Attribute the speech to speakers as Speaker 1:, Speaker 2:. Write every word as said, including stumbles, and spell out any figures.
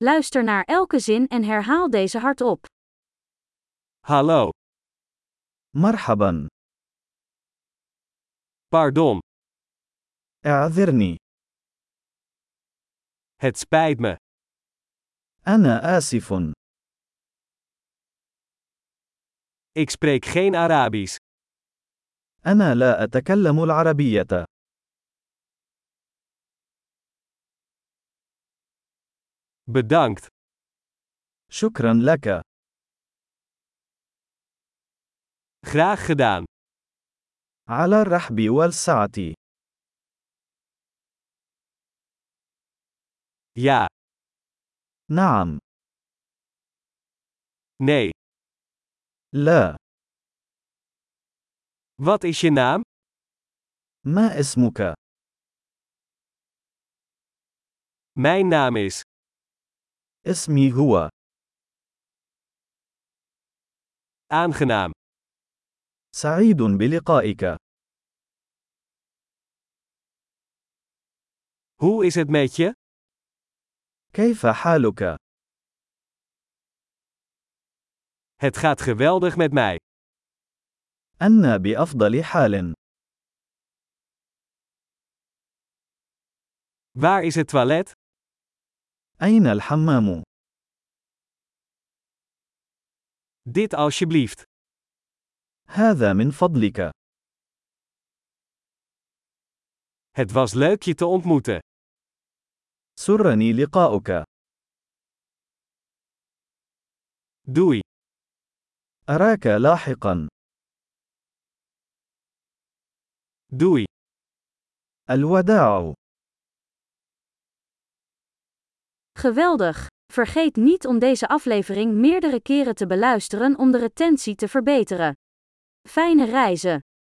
Speaker 1: Luister naar elke zin en herhaal deze hardop.
Speaker 2: Hallo.
Speaker 3: مرحبا.
Speaker 2: Pardon.
Speaker 3: اعذرني.
Speaker 2: Het spijt me.
Speaker 3: أنا آسف.
Speaker 2: Ik spreek geen Arabisch.
Speaker 3: أنا لا أتكلم العربية.
Speaker 2: Bedankt.
Speaker 3: شكرا لك.
Speaker 2: Graag gedaan.
Speaker 3: على الرحب والسعة.
Speaker 2: Ja.
Speaker 3: نعم.
Speaker 2: Nee.
Speaker 3: لا.
Speaker 2: Wat is je naam?
Speaker 3: ما اسمك؟
Speaker 2: Mijn naam is.
Speaker 3: اسمي هو.
Speaker 2: Aangenaam.
Speaker 3: سعيد بلقائك.
Speaker 2: Hoe is het met je?
Speaker 3: كيف حالك؟
Speaker 2: Het gaat geweldig met mij.
Speaker 3: أنا بأفضل حال.
Speaker 2: Waar is het toilet?
Speaker 3: أين الحمام؟
Speaker 2: Dit alsjeblieft.
Speaker 3: هذا من فضلك.
Speaker 2: Het was leuk je te ontmoeten.
Speaker 3: سرني لقاؤك.
Speaker 2: Doei.
Speaker 3: أراك لاحقا.
Speaker 2: Doei.
Speaker 3: الوداع.
Speaker 1: Geweldig! Vergeet niet om deze aflevering meerdere keren te beluisteren om de retentie te verbeteren. Fijne reizen!